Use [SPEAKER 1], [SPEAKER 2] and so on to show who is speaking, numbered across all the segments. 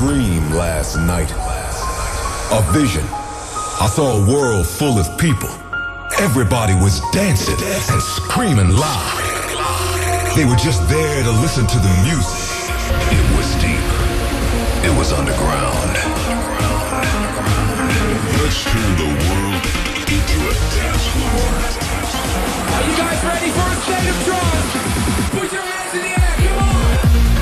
[SPEAKER 1] dream last night. A vision. I saw a world full of people. Everybody was dancing and screaming loud. They were just there to listen to the music. It was deep. It was underground. Let's turn the world into a dance floor.
[SPEAKER 2] Are you guys ready for a state of trance? Put your hands in the air, come on!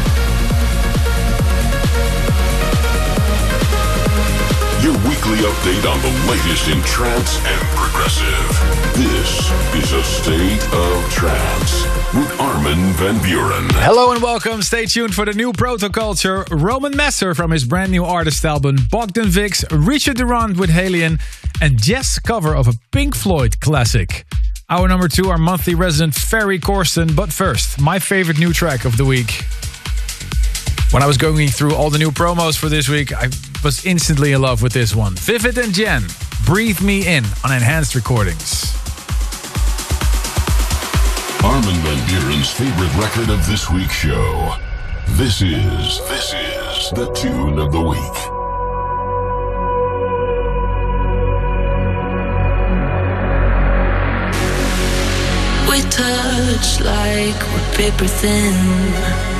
[SPEAKER 3] Your weekly update on the latest in trance and progressive. This is a State of Trance with Armin van Buuren.
[SPEAKER 4] Hello and welcome. Stay tuned for the new Protoculture, Roman Messer from his brand new artist album, Bogdan Vix, Richard Durand with Halion, and Jess' cover of a Pink Floyd classic. Hour number 2, our monthly resident Ferry Corsten. But first, my favorite new track of the week. When I was going through all the new promos for this week, I was instantly in love with this one. Vivid and Jen, Breathe Me In on Enhanced Recordings.
[SPEAKER 3] Armin van Buuren's favorite record of this week's show. This is the Tune of the Week.
[SPEAKER 5] We touch like we're paper thin.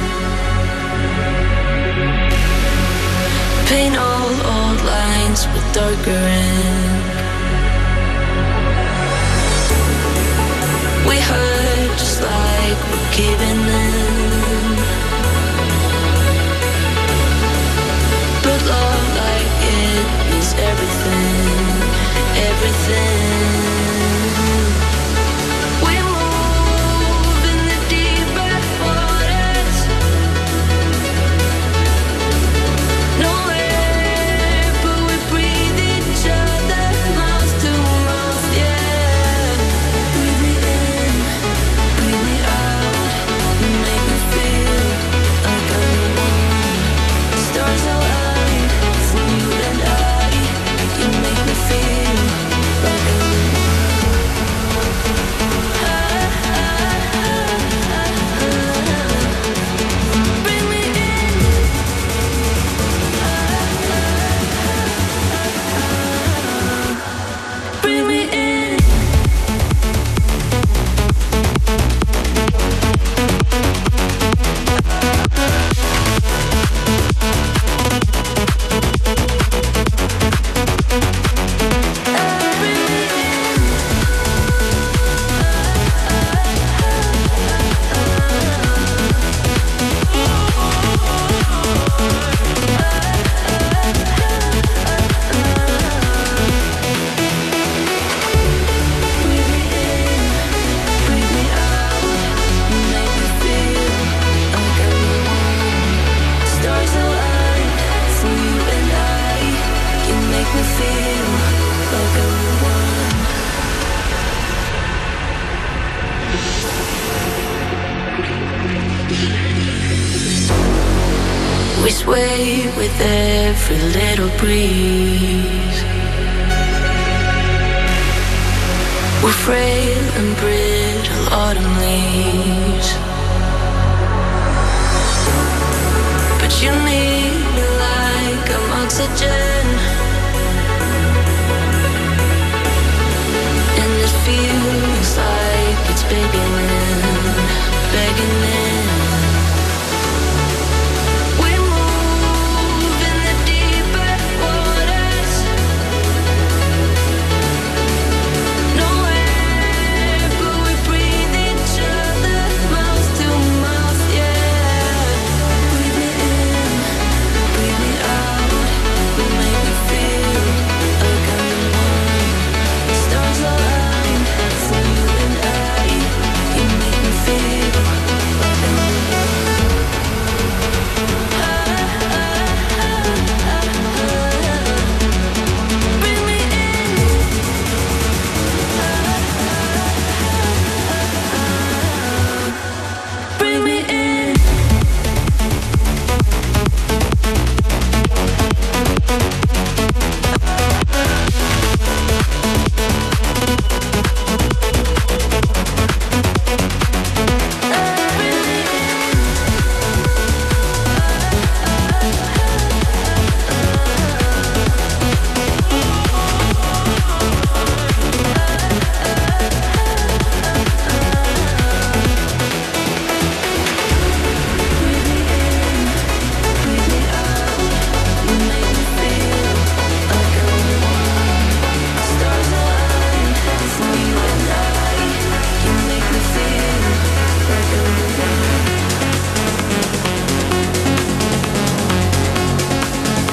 [SPEAKER 5] Paint all old lines with darker ink. We hurt just like we're giving in. But love like it means everything, everything. We move in the deeper waters. No air, but we breathe each other mouth to mouth, yeah. Breathe me in, breathe me out. You make me feel like I'm the one. Stars align for you and I. You make me feel like I'm the one. Bring me in. Bring me in. Breathe me out. You make me feel like I'm the one. Stars align for you and I. You make me feel like I'm the one. We sway with every little breeze. We're frail and brittle autumn leaves. But you need me like I'm oxygen. And it feels like it's begging in, begging in. We move in the deeper waters. No air, but we breathe each other mouth to mouth, yeah. Breathe me in, breathe me out. You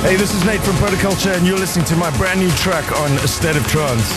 [SPEAKER 6] Hey, this is Nate from Protoculture, and you're listening to my brand new track on A State of Trance.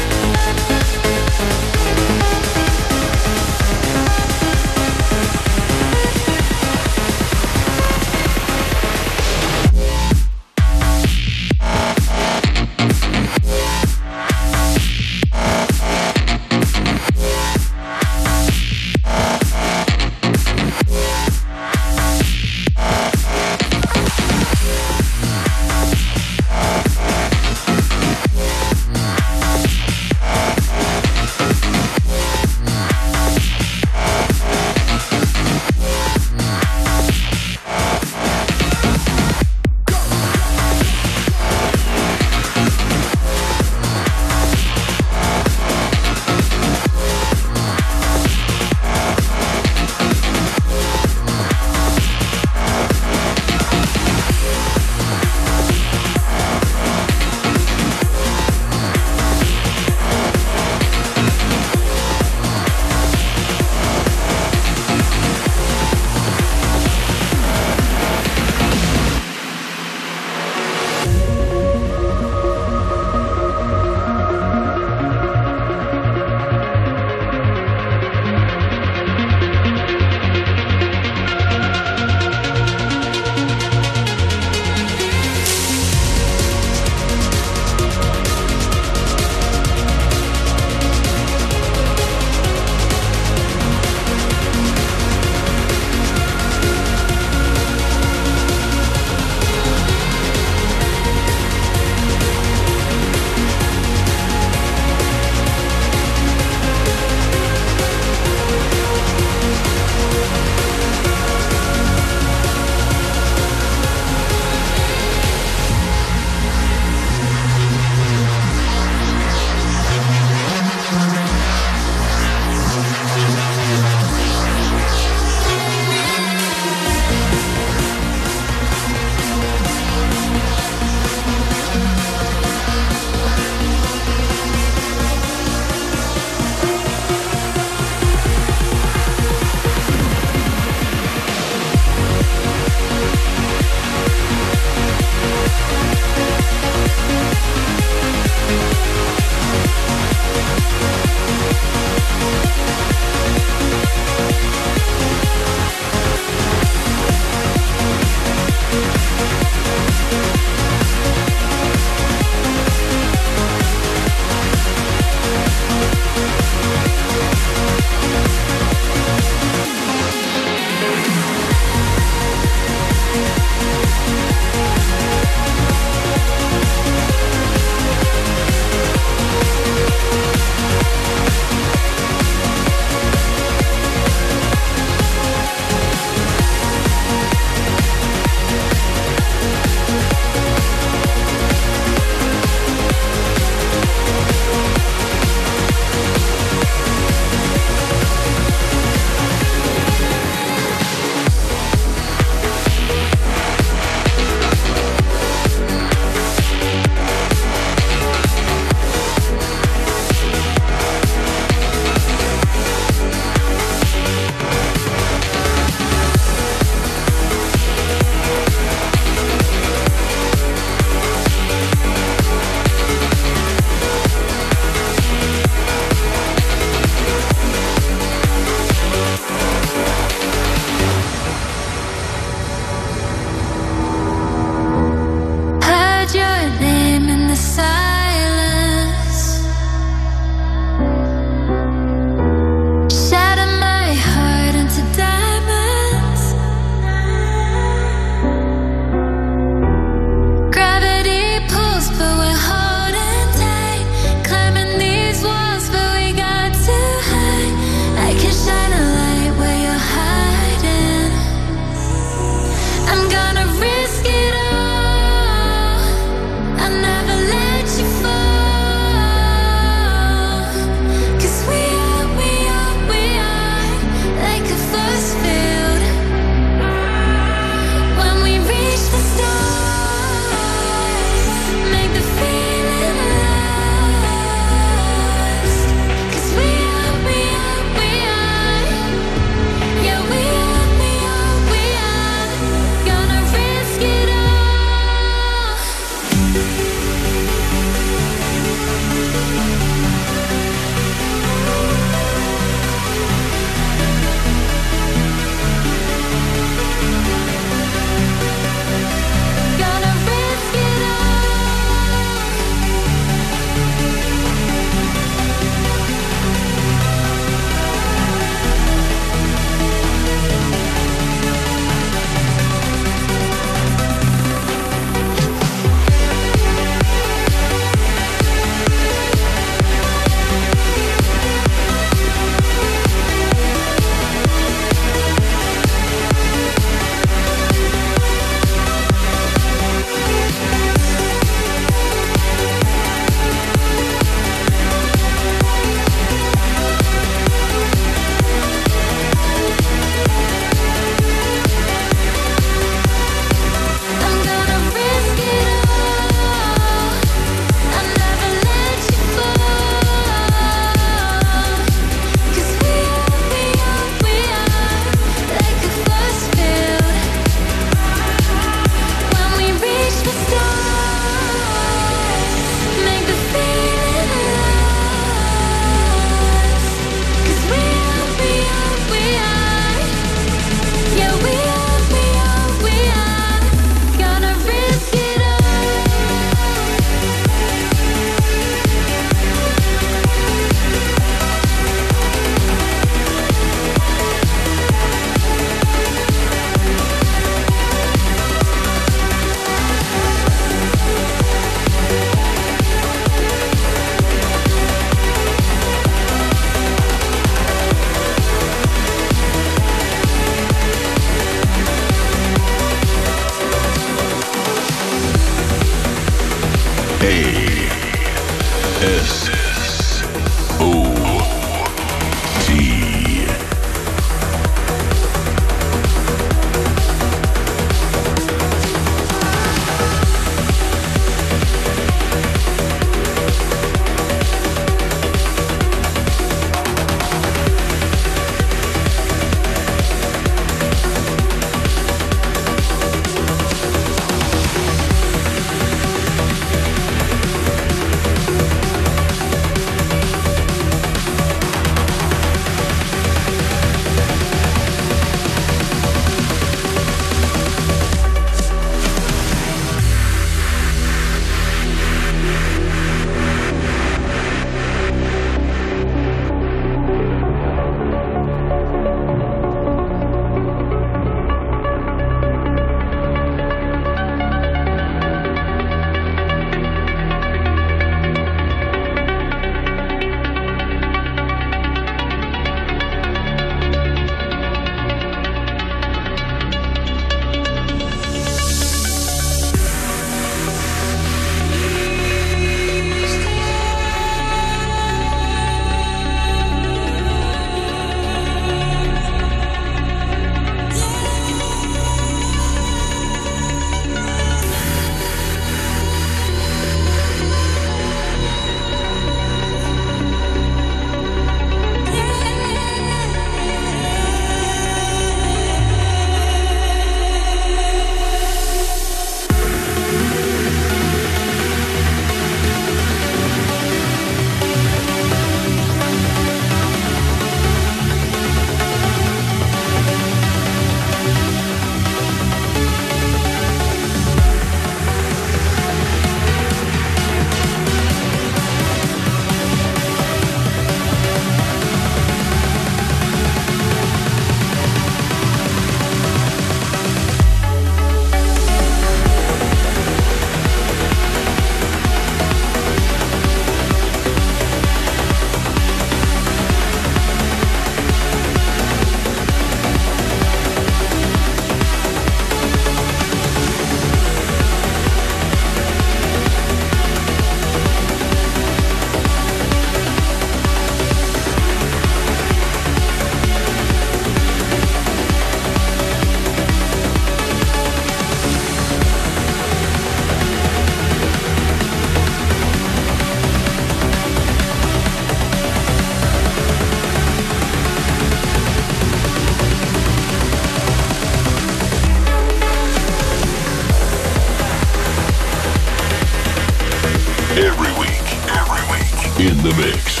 [SPEAKER 3] In the mix.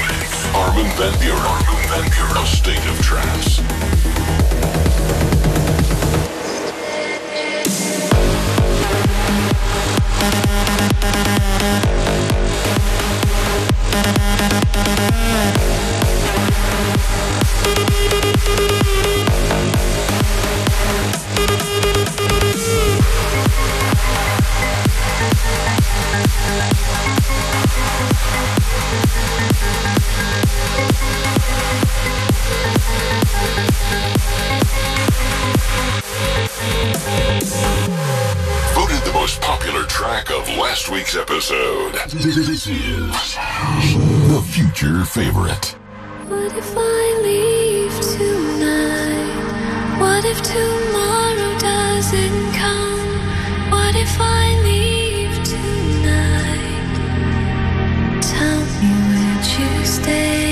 [SPEAKER 3] Armin van Buuren. A State of Trance. Voted the most popular track of last week's episode. This is the future favorite.
[SPEAKER 5] What if I leave tonight? What if tomorrow doesn't come? What if I leave tonight? Tell me, would you stay?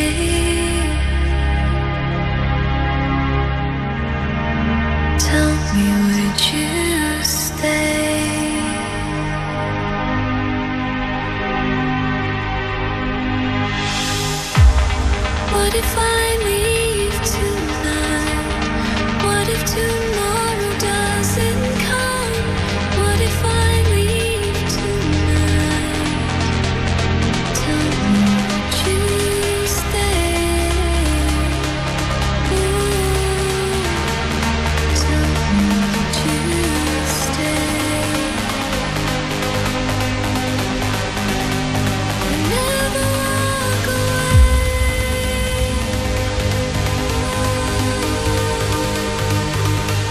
[SPEAKER 5] Tell me, would you stay? What if I leave tonight? What if tomorrow doesn't come? What if I leave tonight? Tell me, would you stay? Ooh, tell me, would you stay? Never walk away.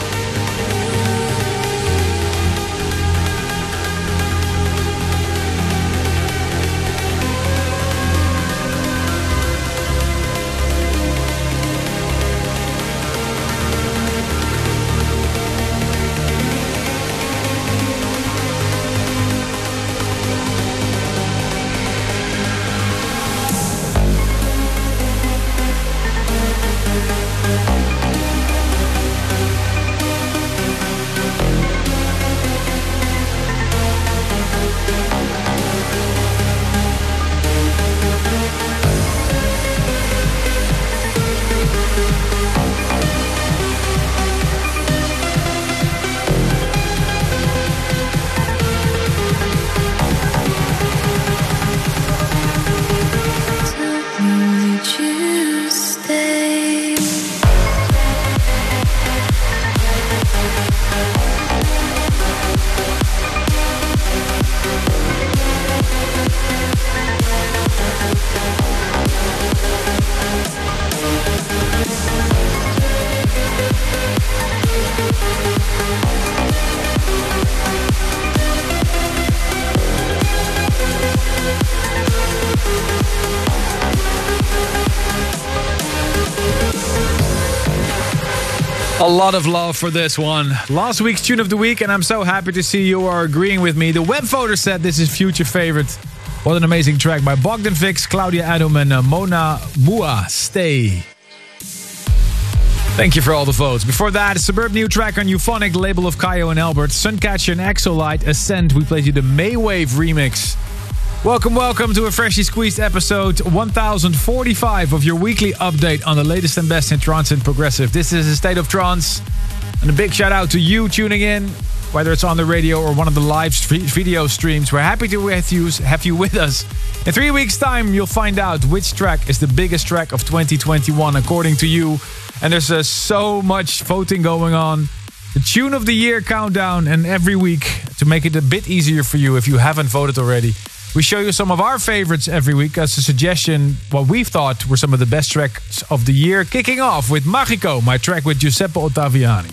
[SPEAKER 4] A lot of love for this one. Last week's tune of the week, and I'm so happy to see you are agreeing with me. The web voter said this is future favorite. What an amazing track by Bogdan Vix, Claudia Adam, and Mona Mua. Stay. Thank you for all the votes. Before that, a Suburb new track on Euphonic, the label of Kaio and Albert. Suncatcher and Exolite, Ascend. We played you the Maywave remix. Welcome to a freshly squeezed episode 1045 of your weekly update on the latest and best in trance and progressive. This is A State of Trance. And a big shout out to you tuning in, whether it's on the radio or one of the live video streams. We're happy to have you with us. In 3 weeks' time, you'll find out which track is the biggest track of 2021 according to you. And there's so much voting going on. The Tune of the Year countdown, and every week, to make it a bit easier for you if you haven't voted already, we show you some of our favorites every week as a suggestion, what we've thought were some of the best tracks of the year. Kicking off with Magico, my track with Giuseppe Ottaviani.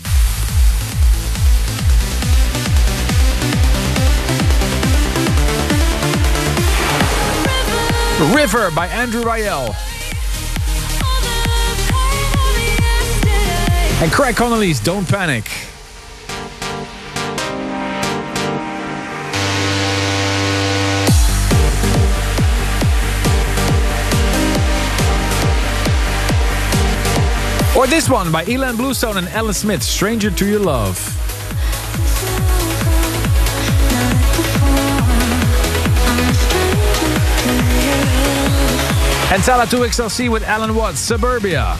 [SPEAKER 4] River by Andrew Rayel. And Craig Connolly's Don't Panic. Or this one by Elan Bluestone and Ella Smith, Stranger to Your Love. And Tala 2XLC with Alan Watts, Suburbia.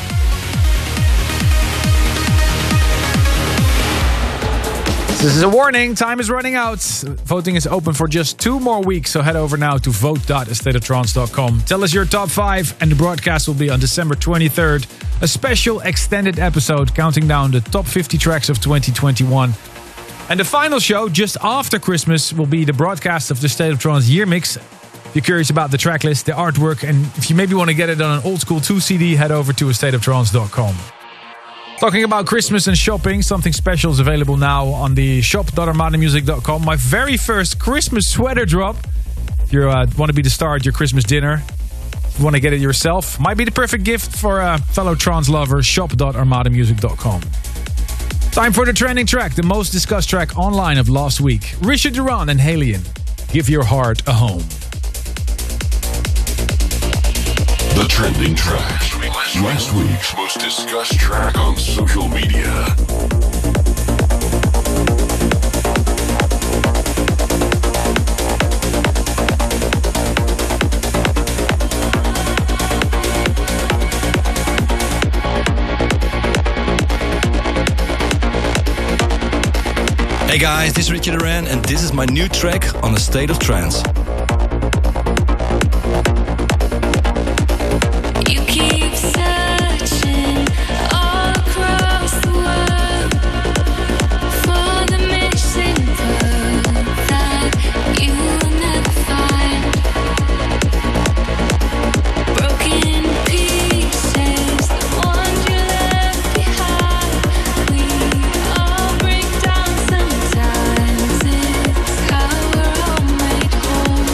[SPEAKER 4] This is a warning, time is running out. Voting is open for just 2 more weeks, so head over now to vote.astateoftrance.com. Tell us your top 5, and the broadcast will be on December 23rd. A special extended episode counting down the top 50 tracks of 2021. And the final show, just after Christmas, will be the broadcast of the State of Trance Year Mix. If you're curious about the track list, the artwork, and if you maybe want to get it on an old school 2 CD, head over to astateoftrance.com. Talking about Christmas and shopping, something special is available now on the shop.armadamusic.com. My very first Christmas sweater drop. If you want to be the star at your Christmas dinner, if you want to get it yourself, might be the perfect gift for a fellow trance lover. Shop.armadamusic.com. Time for the trending track, the most discussed track online of last week. Richard Durand and Halion, Give Your Heart a Home.
[SPEAKER 3] The trending track. Last week's most discussed track on social media.
[SPEAKER 7] Hey guys, this is Richard Durand and this is my new track on A State of Trance.
[SPEAKER 5] Sometimes it's how we're all made whole.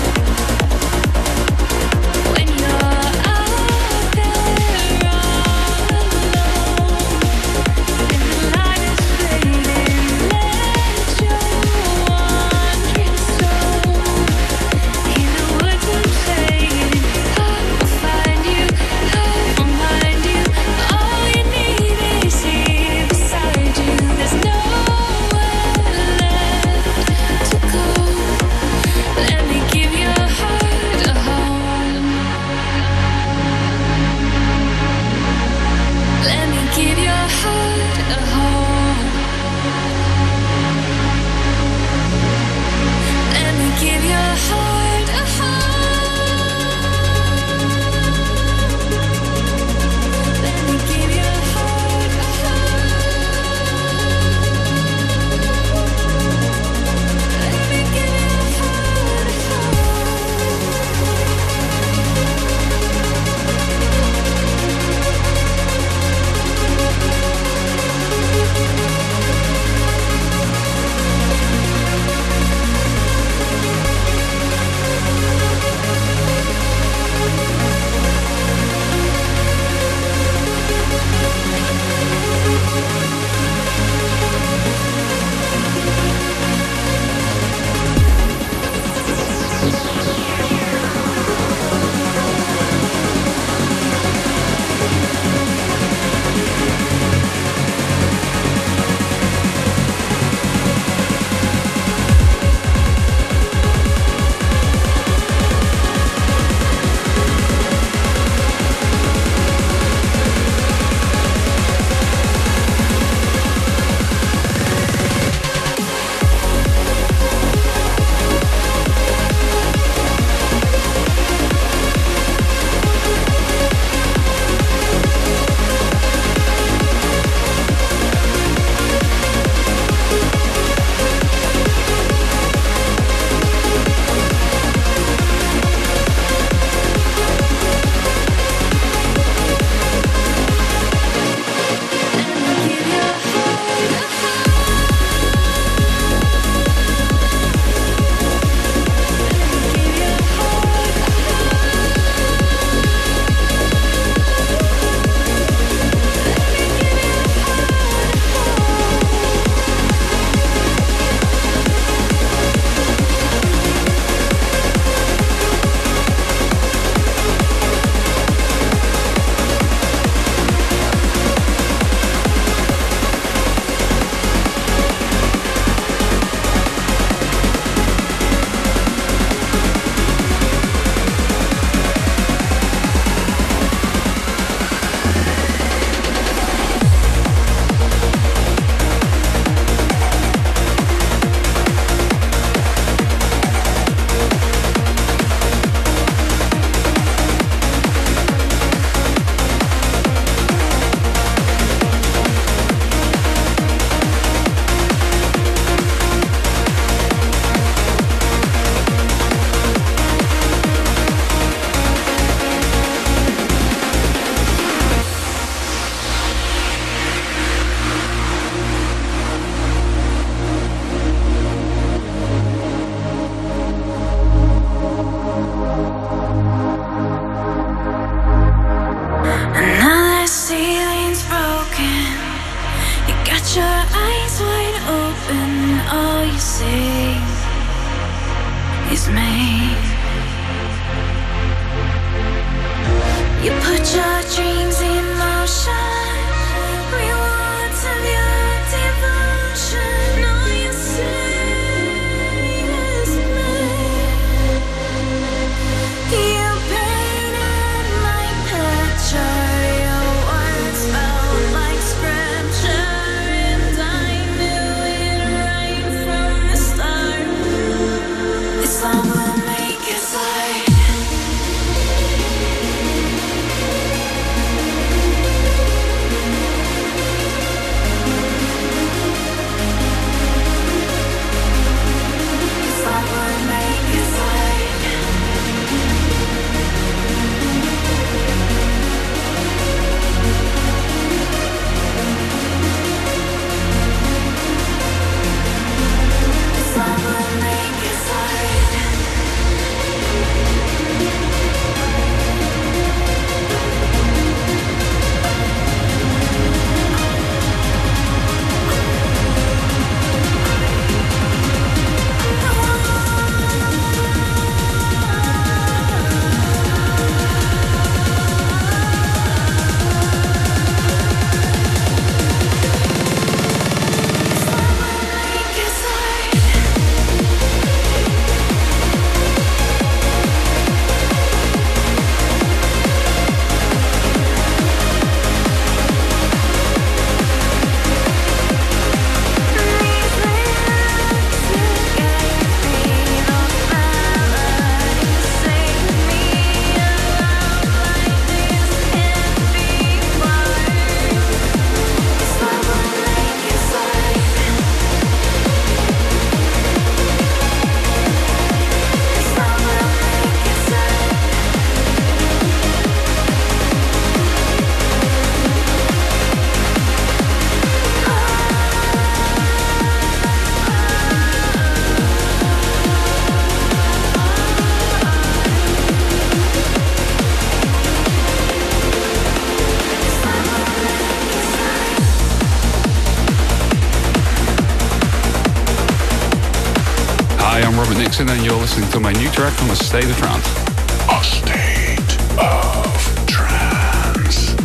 [SPEAKER 8] and you're listening to my new track on A State of Trance.
[SPEAKER 3] A State of Trance.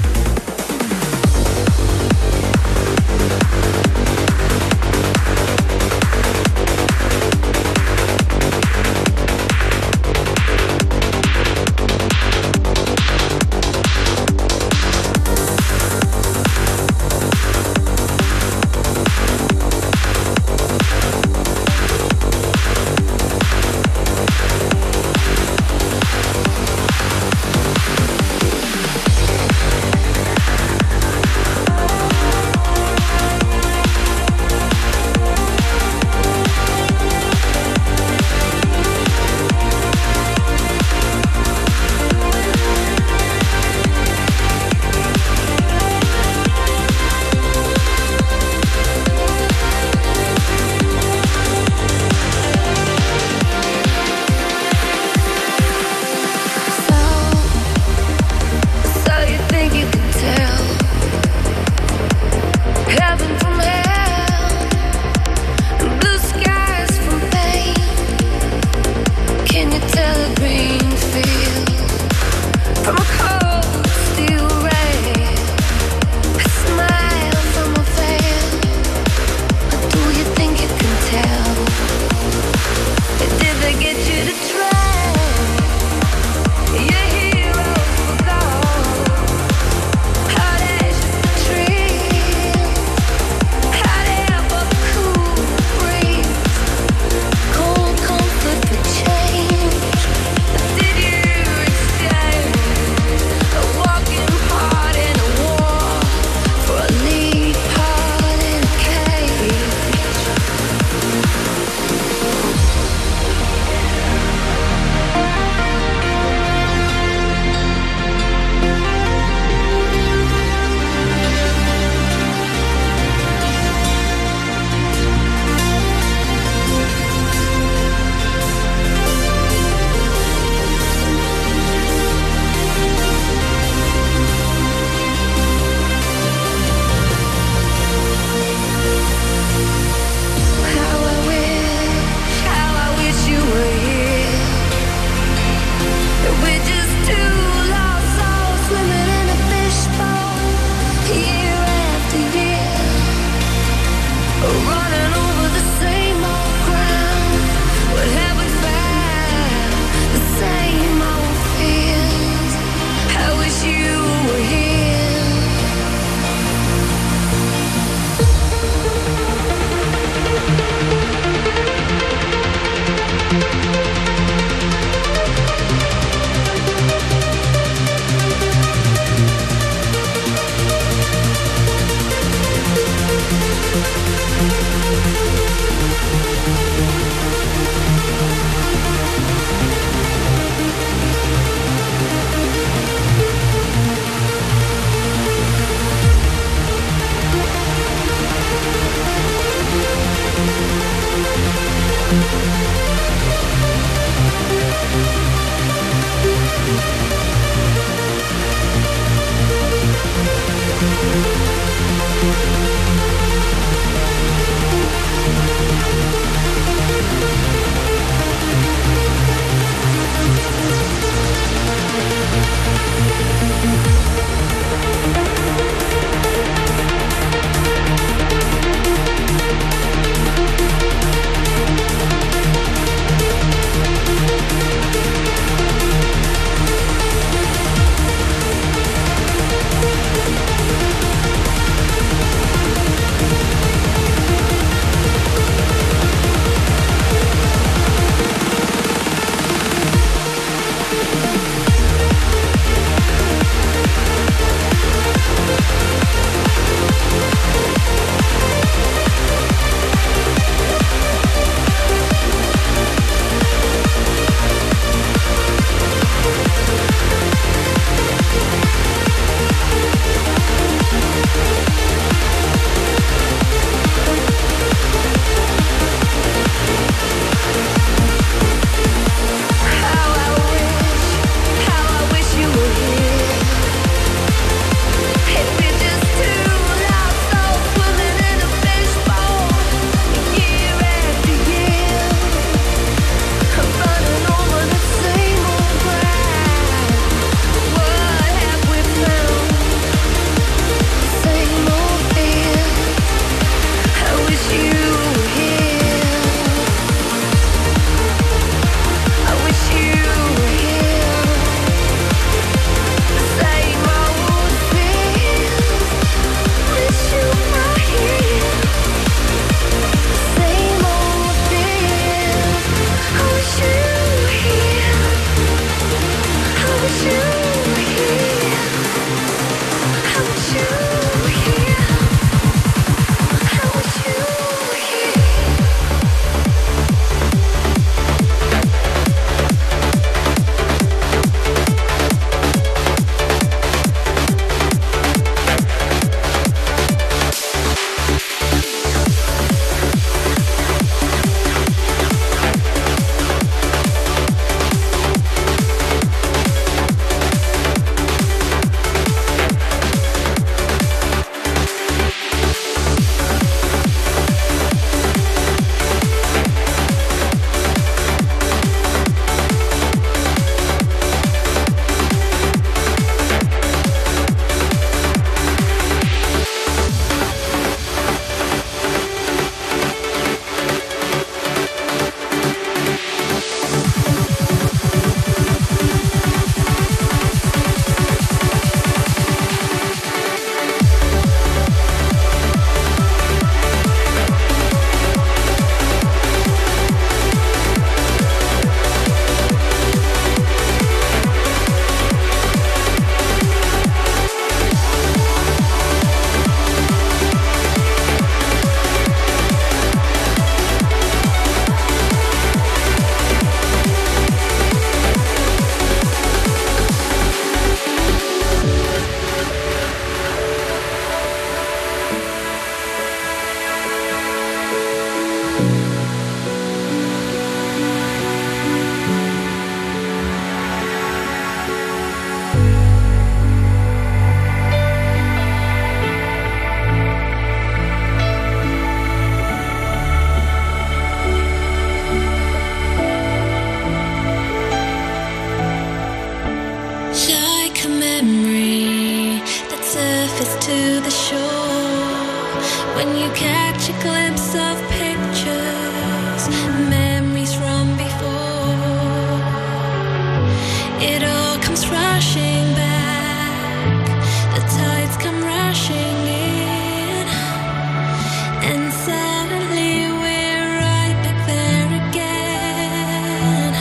[SPEAKER 5] glimpse of pictures, memories from before. It all comes rushing back, the tides come rushing in, and suddenly we're right back there again.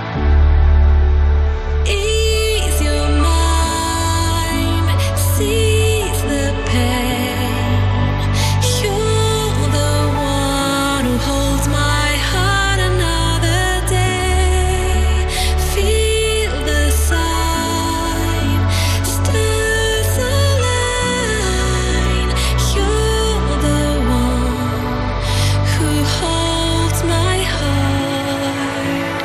[SPEAKER 5] Ease your mind, seize the pain. You're the one who holds my heart another day. Feel the sign, stars align. You're the one who holds my heart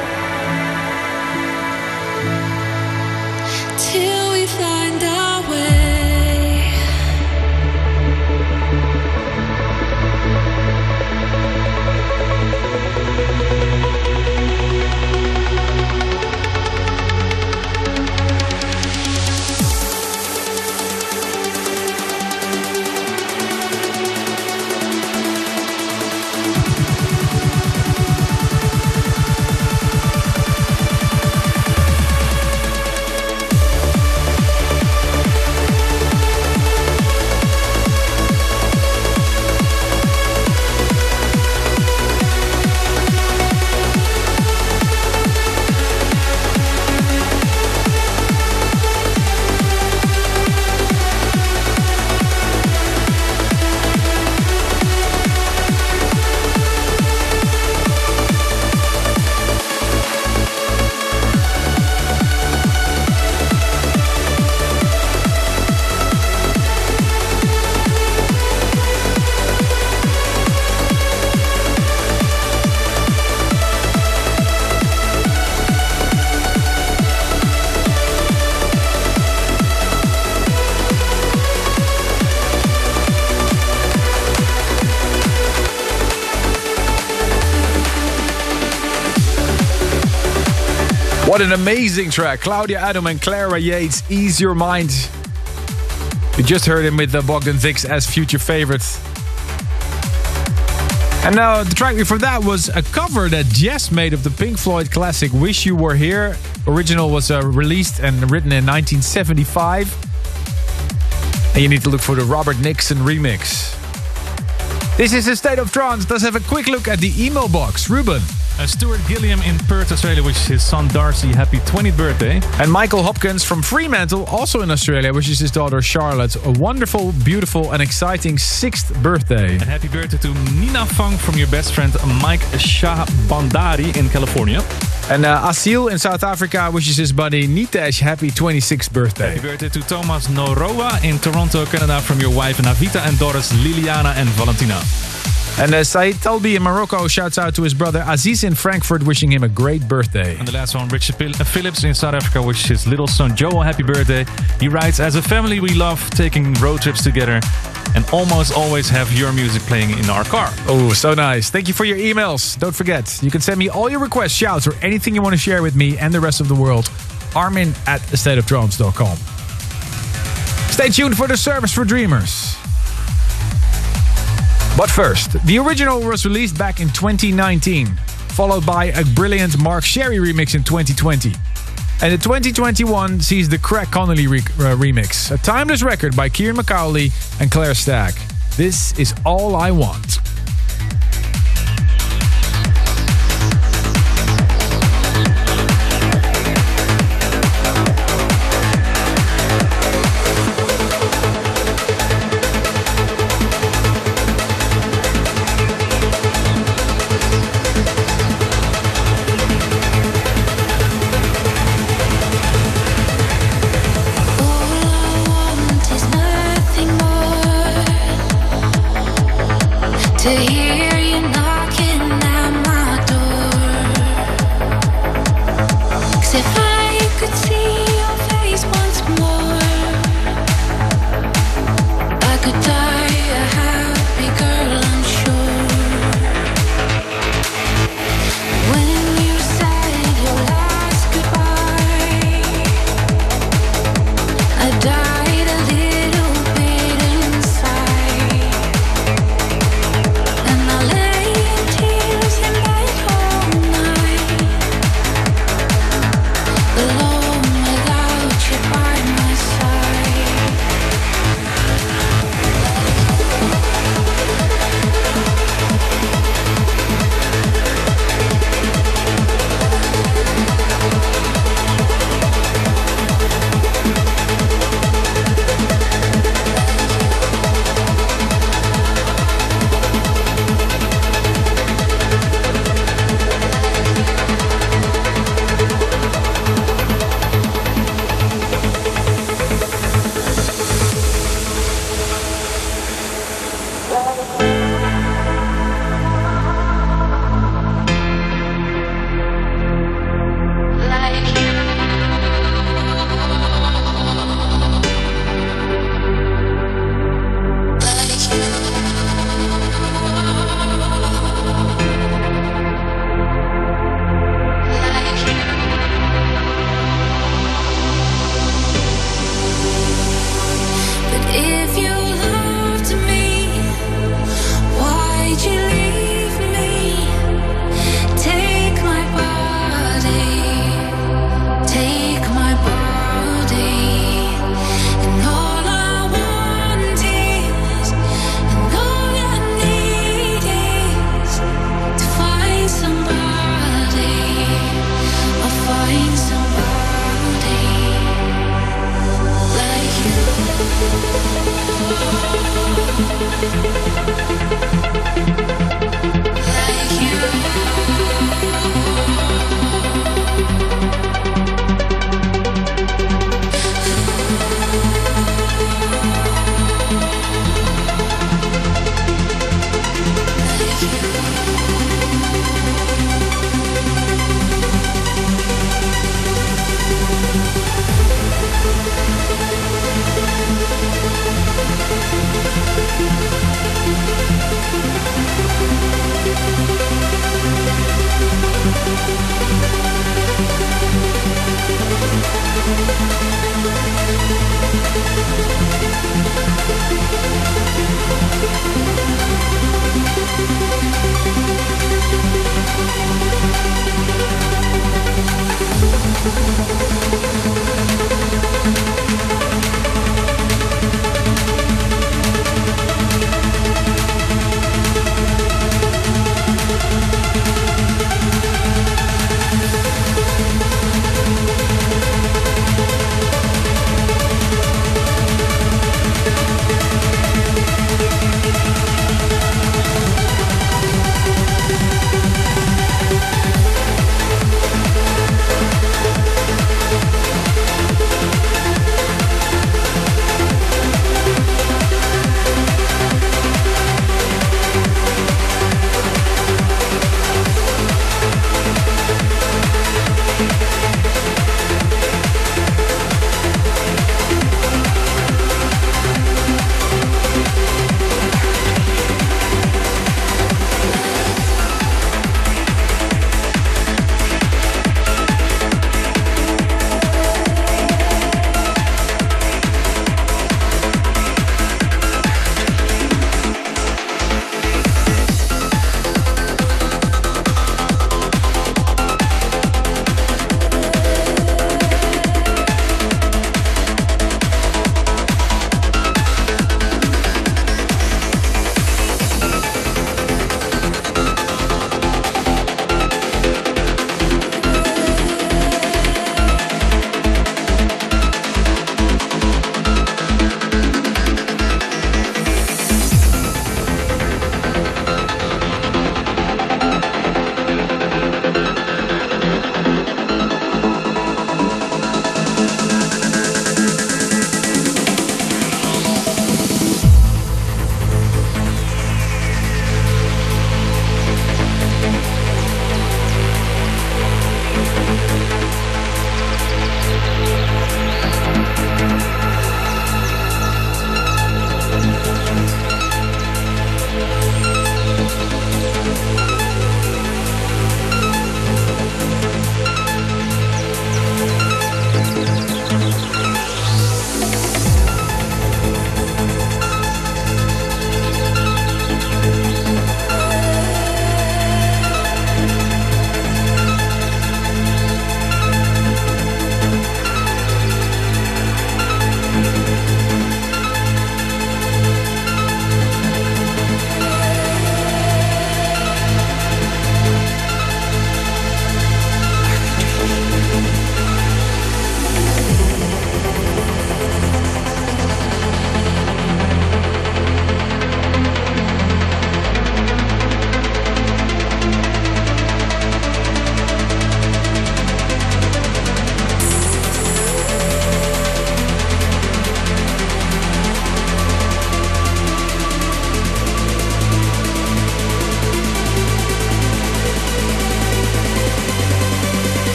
[SPEAKER 5] till we find our way.
[SPEAKER 4] What an amazing track. Claudia Adam and Clara Yates, Ease Your Mind. You just heard him with Bogdan Vix as future favorite. And now the track before that was a cover that Jess made of the Pink Floyd classic Wish You Were Here. Original was released and written in 1975. And you need to look for the Robert Nixon remix. This is a State of Trance. Let's have a quick look at the email box. Ruben.
[SPEAKER 9] Stuart Gilliam in Perth, Australia, wishes his son Darcy happy 20th birthday.
[SPEAKER 4] And Michael Hopkins from Fremantle, also in Australia, wishes his daughter Charlotte a wonderful, beautiful and exciting 6th birthday.
[SPEAKER 9] And happy birthday to Nina Fang from your best friend Mike Shahabandari in California.
[SPEAKER 4] And Asil in South Africa wishes his buddy Nitesh happy 26th birthday.
[SPEAKER 9] Happy birthday to Thomas Noroa in Toronto, Canada, from your wife Navita and daughters Liliana and Valentina.
[SPEAKER 4] And Said Talbi in Morocco shouts out to his brother Aziz in Frankfurt, wishing him a great birthday.
[SPEAKER 9] And the last one, Richard Phillips in South Africa wishes his little son Joel a happy birthday. He writes, as a family we love taking road trips together and almost always have your music playing in our car.
[SPEAKER 4] Oh, so nice. Thank you for your emails. Don't forget, you can send me all your requests, shouts, or anything you want to share with me and the rest of the world. Armin@stateoftrance.com. Stay tuned for the Service for Dreamers. But first, the original was released back in 2019, followed by a brilliant Mark Sherry remix in 2020. And the 2021 sees the Craig Connolly remix, a timeless record by Kieran McCauley and Claire Stack. This is All I Want.
[SPEAKER 5] To hear you knocking at my door. 'Cause if I could see your face once more, I could die a happy girl, I'm sure. When you said your last goodbye, I died a little bit inside. And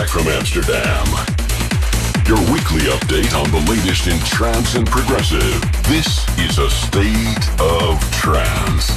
[SPEAKER 3] Track from Amsterdam. Your weekly update on the latest in trance and progressive. This is a state of trance.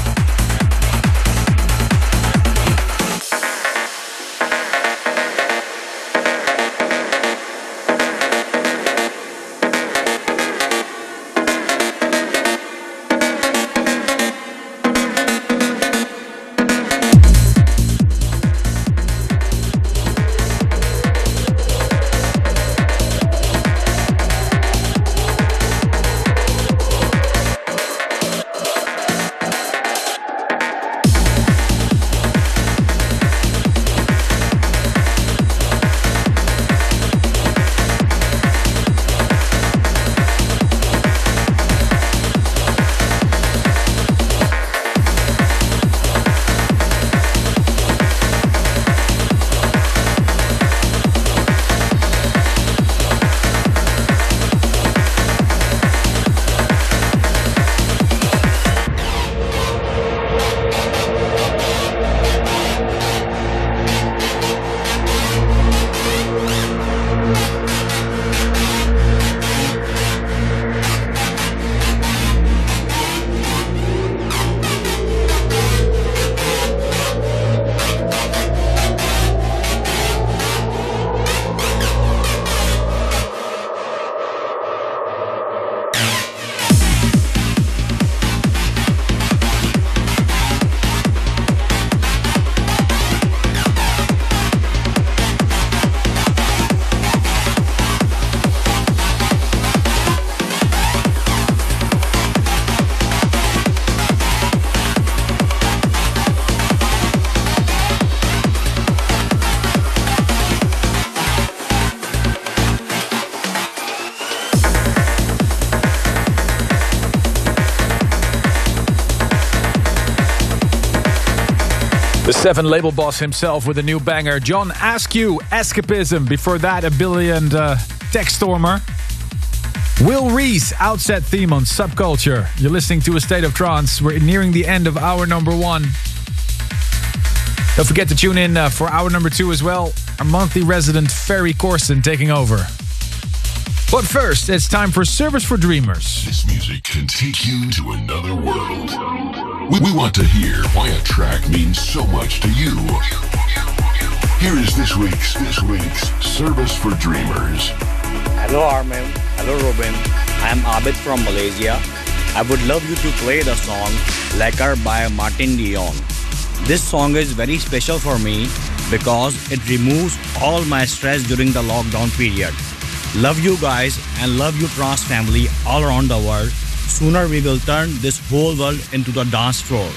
[SPEAKER 4] The Seven label boss himself with a new banger. John Askew, Escapism. Before that, a Billy Tech Stormer. Will Reese, Outset Theme on Subculture. You're listening to A State of Trance. We're nearing the end of hour number 1. Don't forget to tune in for hour number 2 as well. Our monthly resident Ferry Corsten taking over. But first, it's time for Service for Dreamers.
[SPEAKER 3] This music can take you to another world. We want to hear why a track means so much to you. Here is this week's Service for Dreamers.
[SPEAKER 10] Hello Armin, hello Robin. I am Abid from Malaysia. I would love you to play the song Lekar by Martin Dion. This song is very special for me because it removes all my stress during the lockdown period. Love you guys and love you Trance family all around the world. Sooner we will turn this whole world into the dance floor.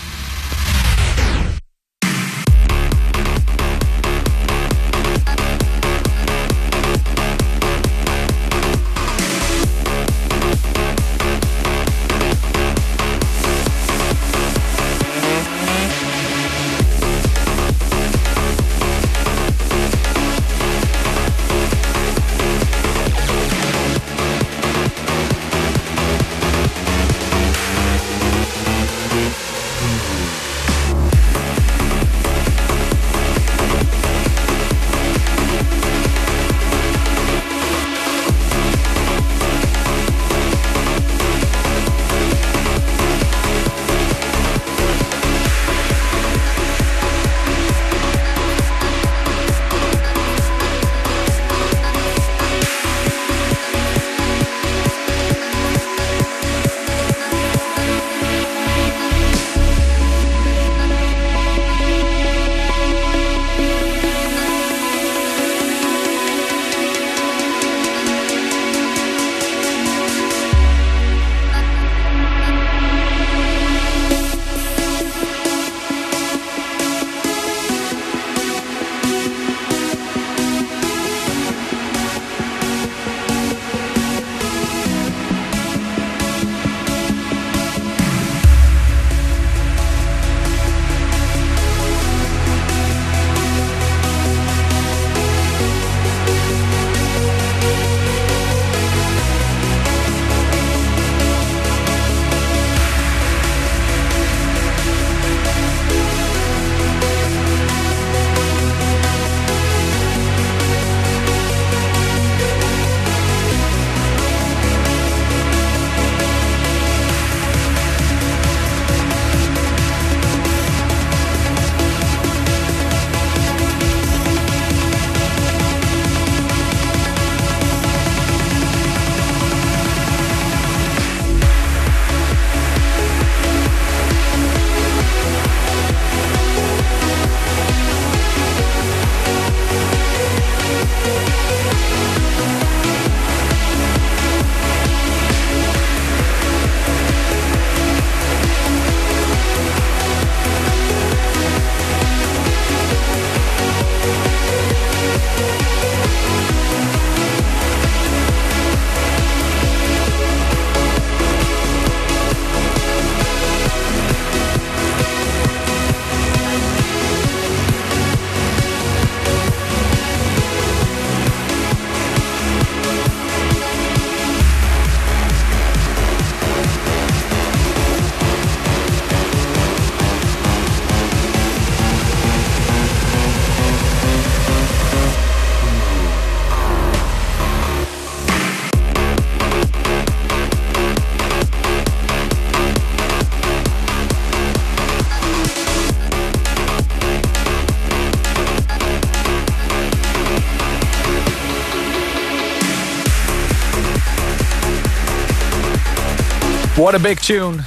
[SPEAKER 4] What a big tune.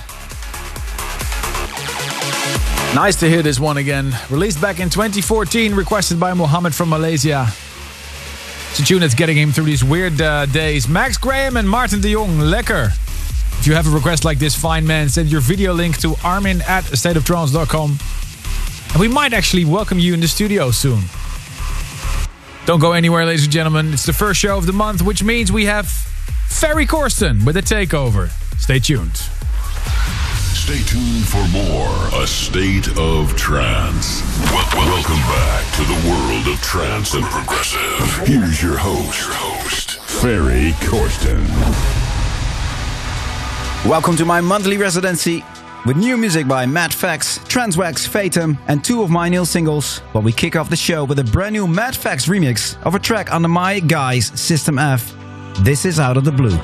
[SPEAKER 4] Nice to hear this one again. Released back in 2014, requested by Mohammed from Malaysia. It's a tune that's getting him through these weird days. Max Graham and Martin de Jong, lekker. If you have a request like this, fine man, send your video link to armin@stateoftrance.com. And we might actually welcome you in the studio soon. Don't go anywhere, ladies and gentlemen. It's the first show of the month, which means we have Ferry Corsten with a takeover. Stay tuned.
[SPEAKER 3] Stay tuned for more A State of Trance. Welcome back to the world of trance and progressive. Here's your host, Ferry Corsten.
[SPEAKER 11] Welcome to my monthly residency with new music by Mad Fax, Transwax, Fatum, and 2 of my new singles. But we kick off the show with a brand new Mad Fax remix of a track under my guys System F. This is Out of the Blue.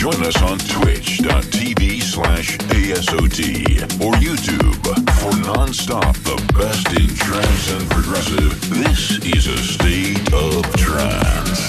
[SPEAKER 3] Join us on twitch.tv/ASOT or YouTube for non-stop the best in trance and progressive. This is a state of trance.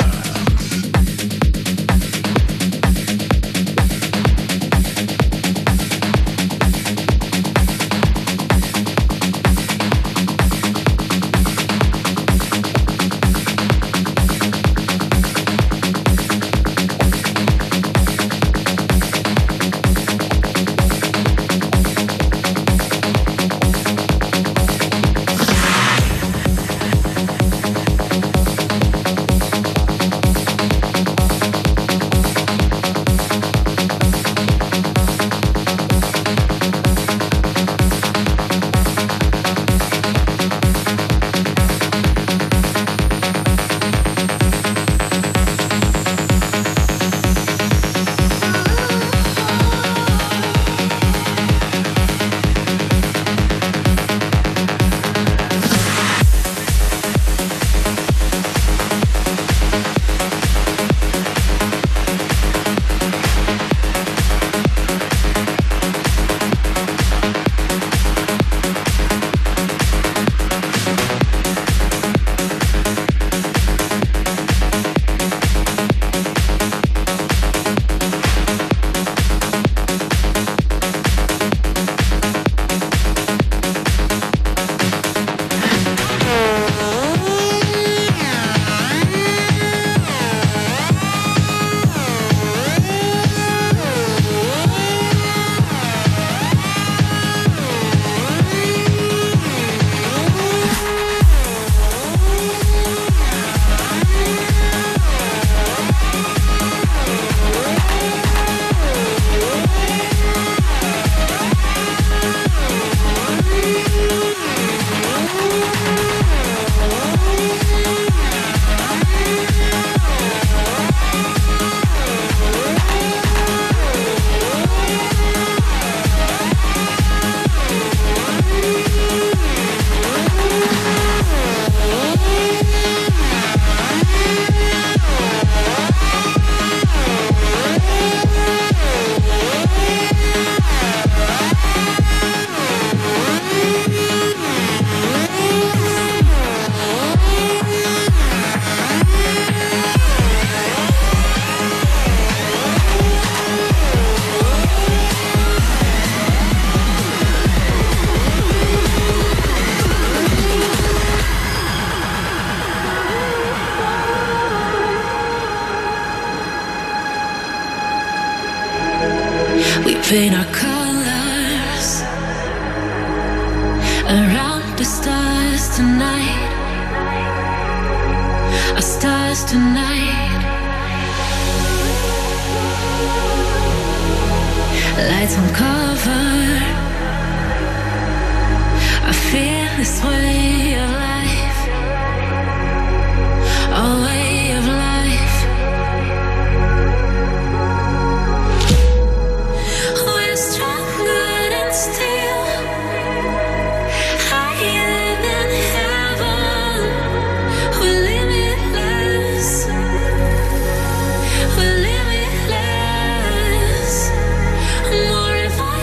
[SPEAKER 5] We paint our colors around the stars tonight. Our stars tonight. Lights on cover. I feel this way of life. A way of life. We're stronger than steel. Higher than heaven. We're limitless. We're limitless. More if I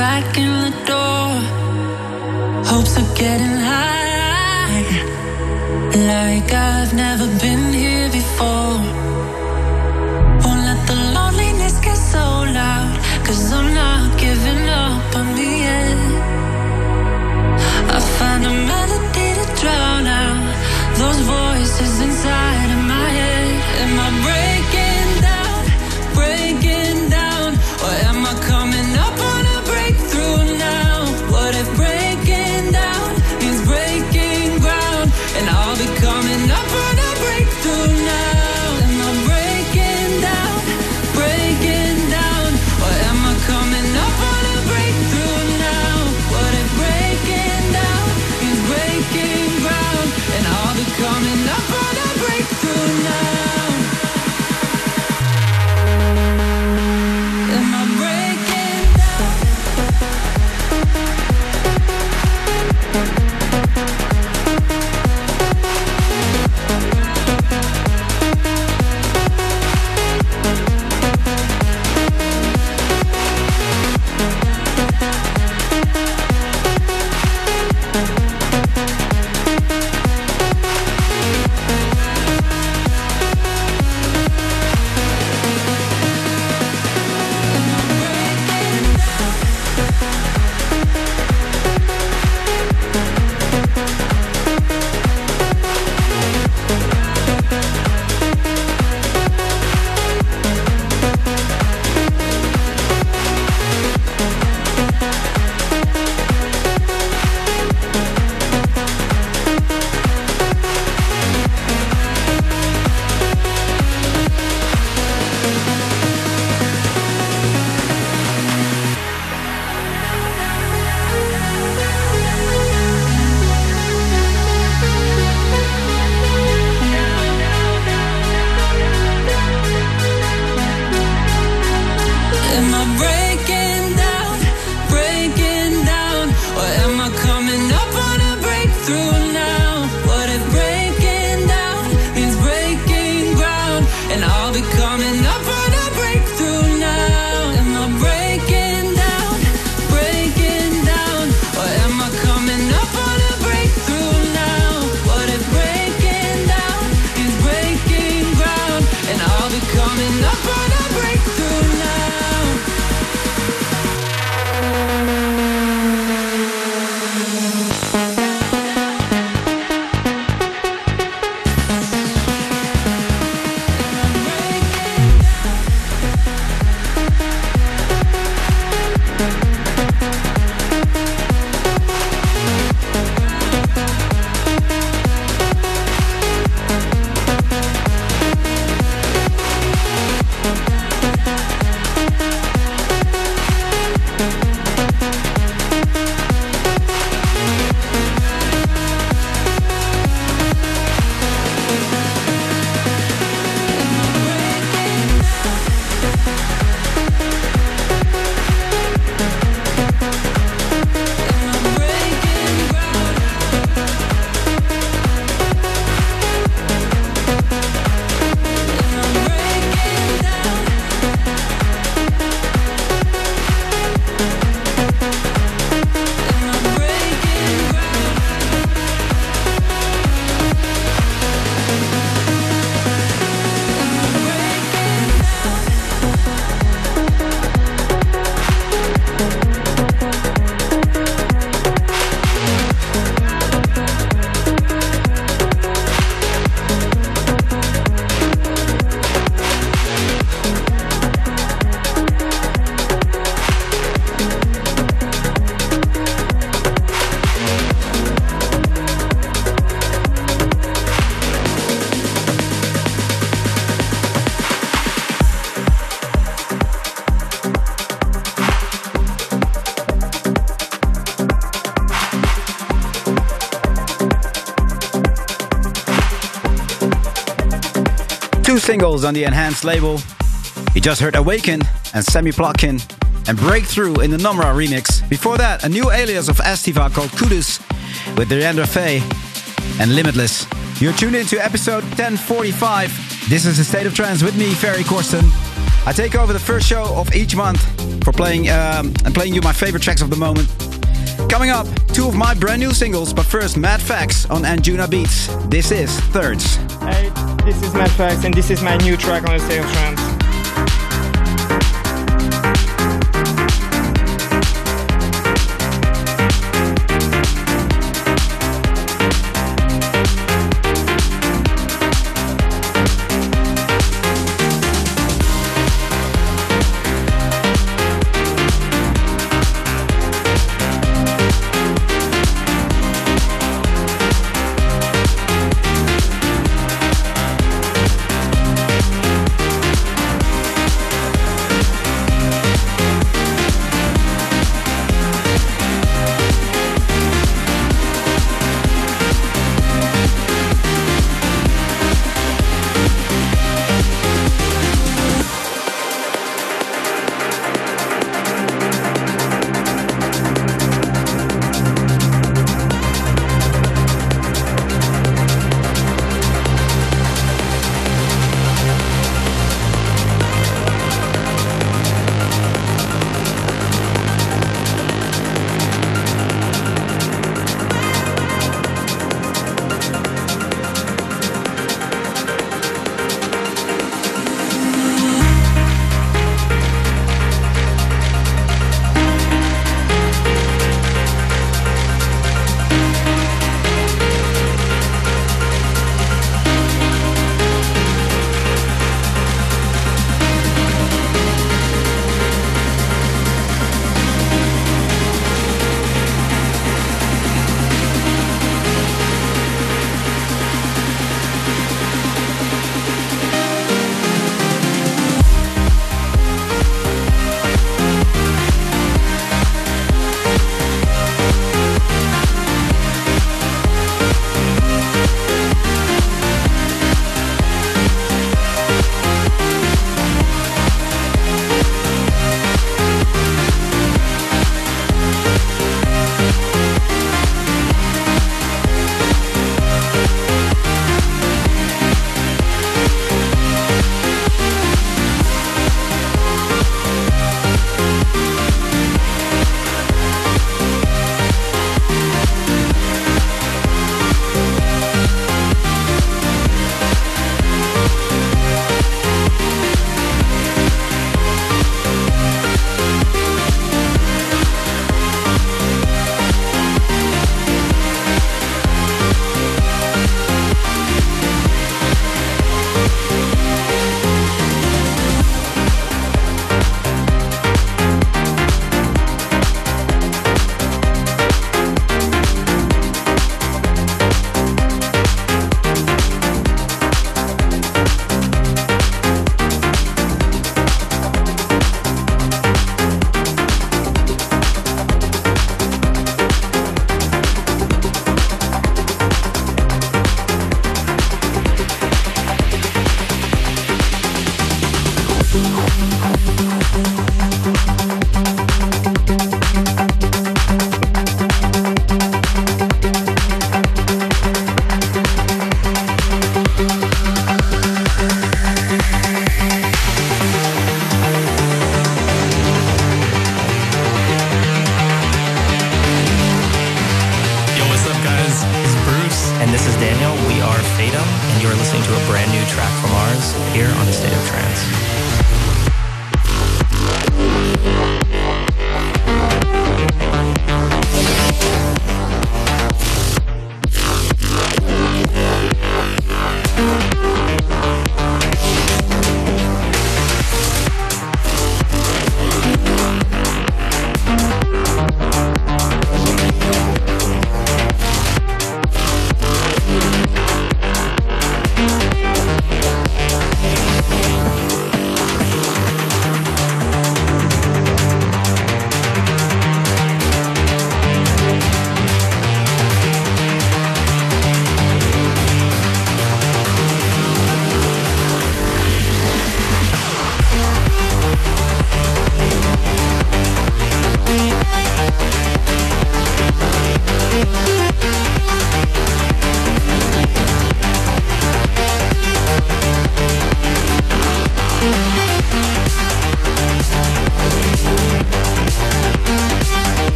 [SPEAKER 5] crack in the door. Hopes of getting high, like I've never been here before. Won't let the loneliness get so loud, 'cause I'm not giving up on me yet. I find a melody to drown out those voices inside of my head. Am I breaking down, breaking down? Or am I coming up on a breakthrough now? What if breaking down means breaking ground? And I'll be coming up on a breakthrough now. Am I breaking down, breaking down? Or am I coming up on a breakthrough now? What if breaking down means breaking ground? And I'll be coming up on a breakthrough now. Am I breaking down? Am I breaking down, breaking down? Or am I coming up on a breakthrough now? What if breaking down means breaking ground? And I'll be coming up on a breakthrough now. Am I breaking down, breaking down? Or am I coming up on a breakthrough now? What if breaking down means breaking ground? And I'll be coming up on a breakthrough now.
[SPEAKER 11] Two singles on the Enhanced label. You just heard Awaken and Semi Plotkin and Breakthrough in the Nomra remix. Before that, a new alias of Estiva called Kudus with Deandra Faye and Limitless. You're tuned into episode 1045. This is the State of Trance with me, Ferry Corsten. I take over the first show of each month for playing you my favorite tracks of the moment. Coming up, 2 of my brand new singles, but first Mad Facts on Anjuna Beats. This is Thirds.
[SPEAKER 12] Hey, this is Mad Facts and this is my new track on the State of Trance.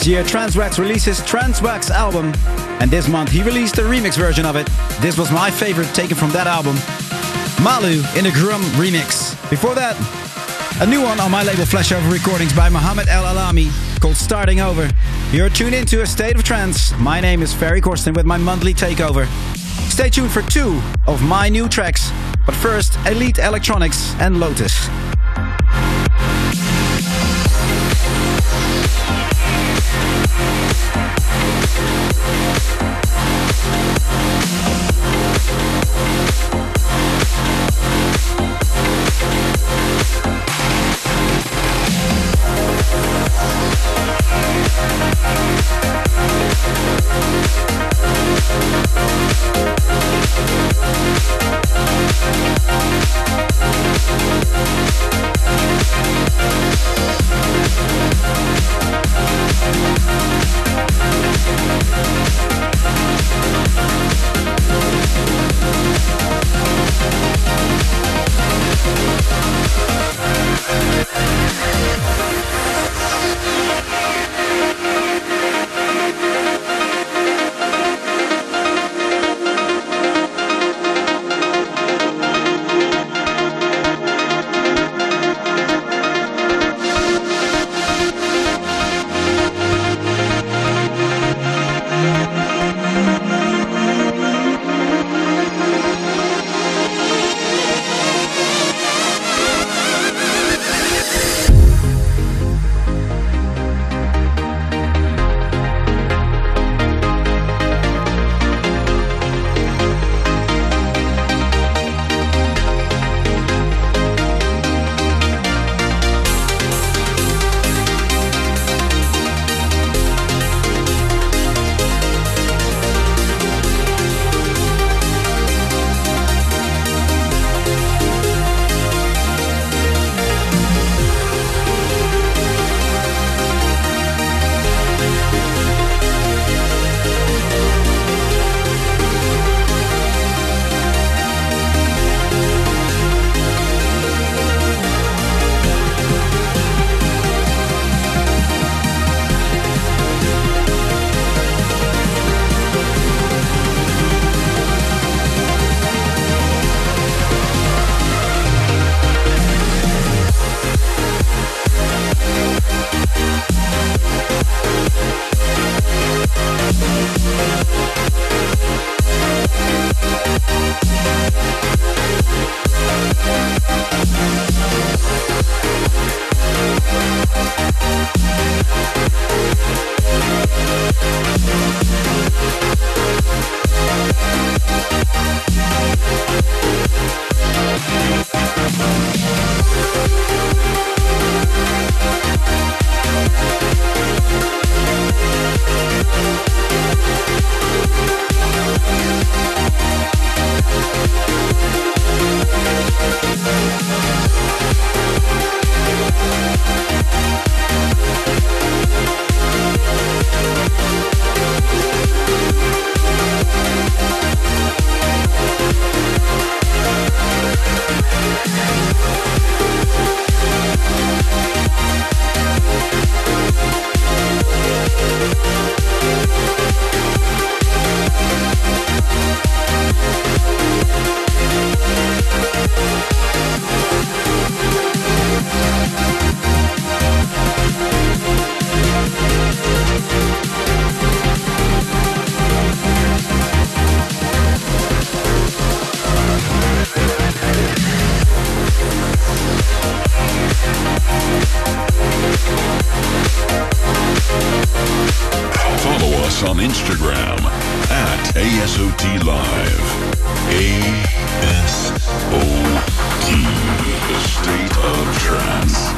[SPEAKER 11] Last year, Transwax released his Transwax album, and this month he released a remix version of it. This was my favorite taken from that album, Malu in a Grum remix. Before that, a new one on my label Flashover Recordings by Mohammed El Alami called Starting Over. You're tuned into A State of Trance. My name is Ferry Corsten with my monthly takeover. Stay tuned for 2 of my new tracks, but first, Elite Electronics and Lotus.
[SPEAKER 3] on Instagram at ASOT Live. ASOT, the state of trance.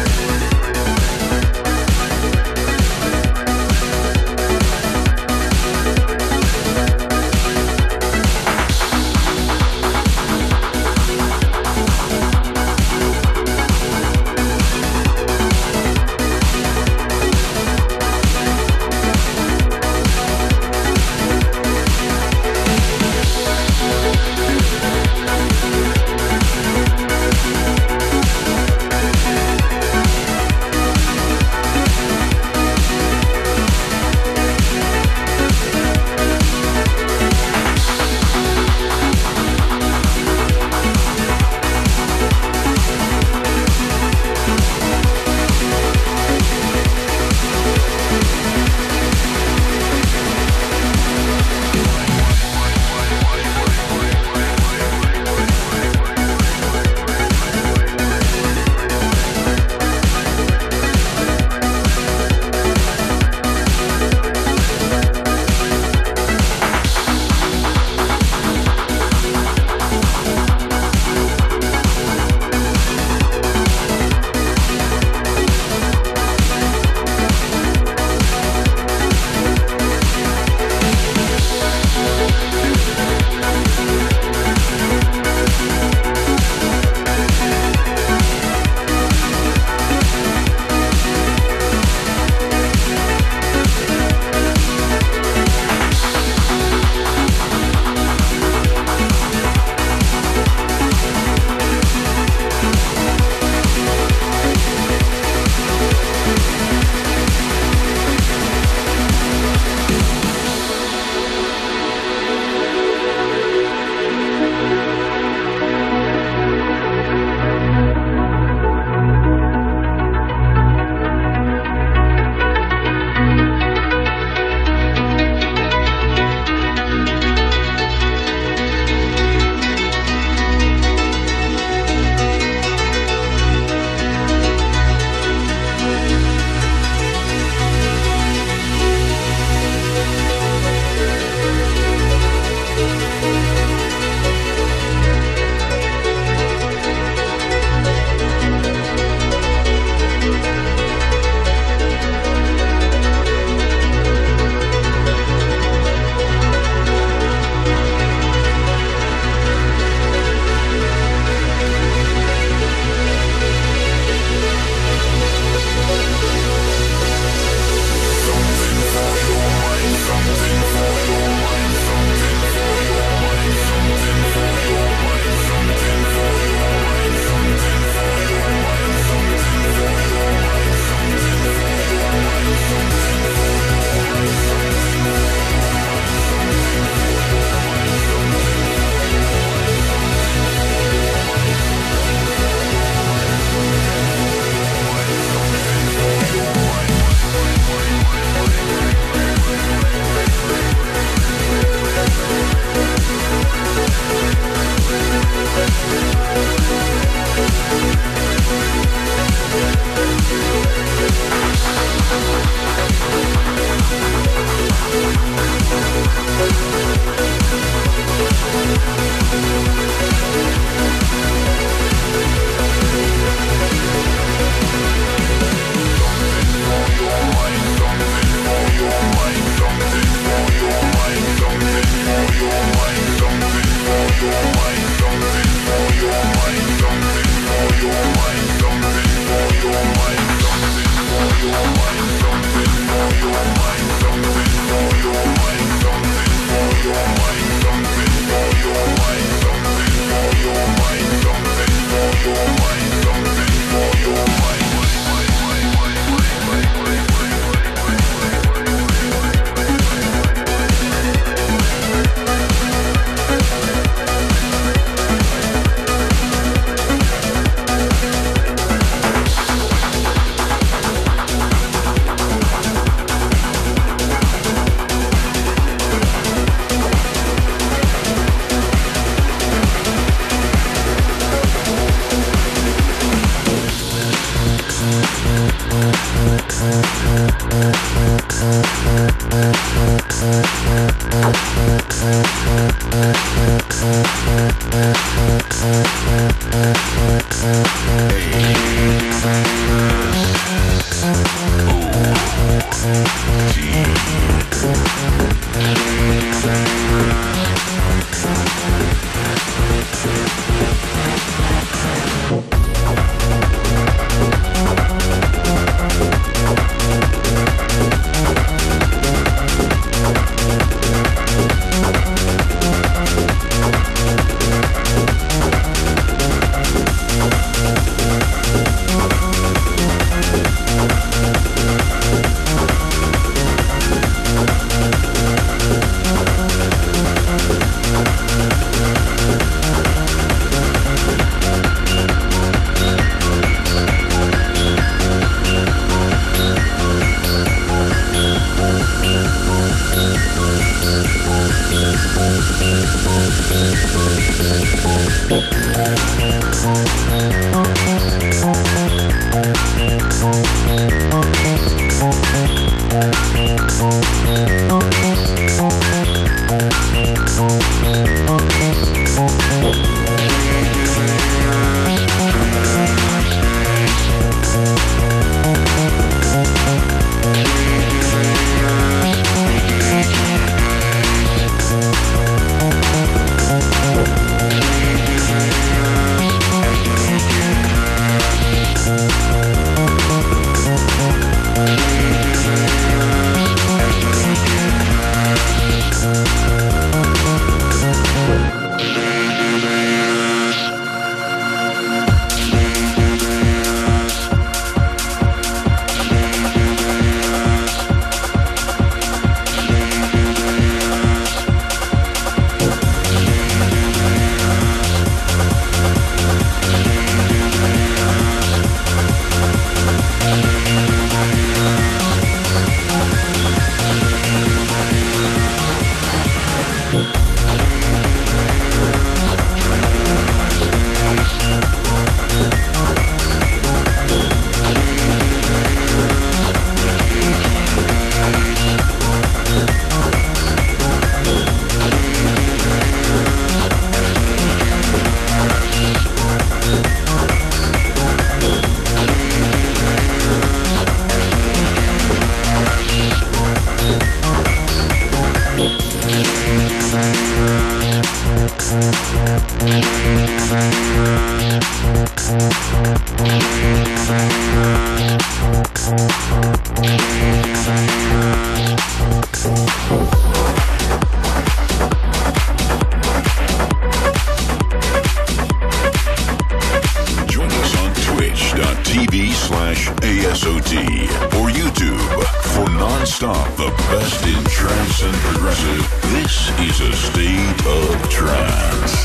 [SPEAKER 3] twitch.tv/ASOT or YouTube for non-stop the best in trance and progressive. This is a state of trance.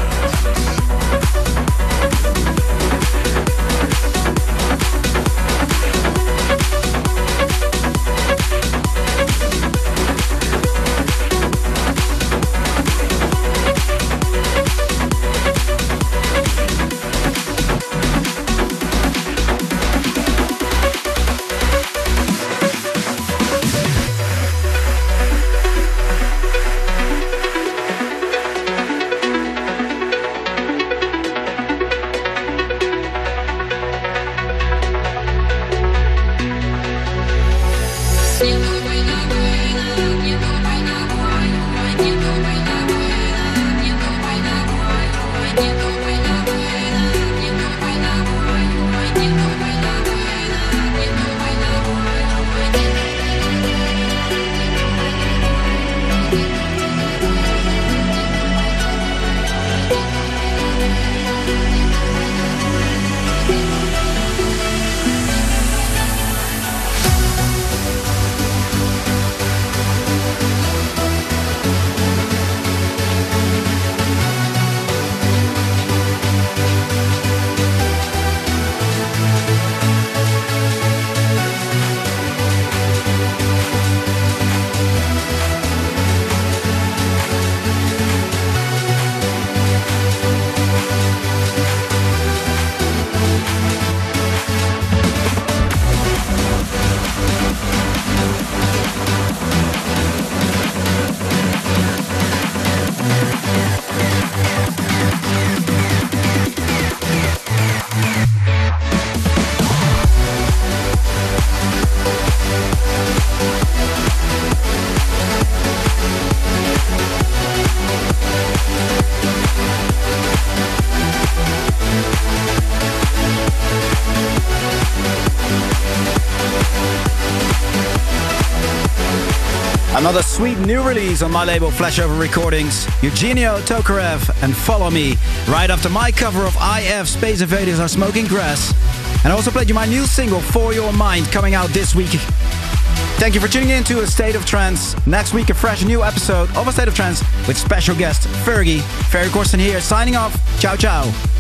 [SPEAKER 11] Another sweet new release on my label Flashover Recordings. Eugenio Tokarev and Follow Me. Right after my cover of IF Space Invaders Are Smoking Grass. And I also played you my new single For Your Mind coming out this week. Thank you for tuning in to A State of Trance. Next week a fresh new episode of A State of Trance with special guest Fergie. Ferry Corsten here signing off. Ciao ciao.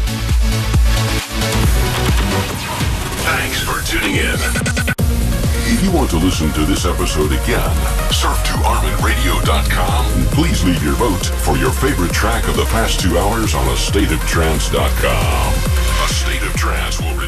[SPEAKER 3] Thanks for tuning in. If you want to listen to this episode again, surf to ArminRadio.com and please leave your vote for your favorite track of the past 2 hours on AstateOfTrance.com. A State of Trance will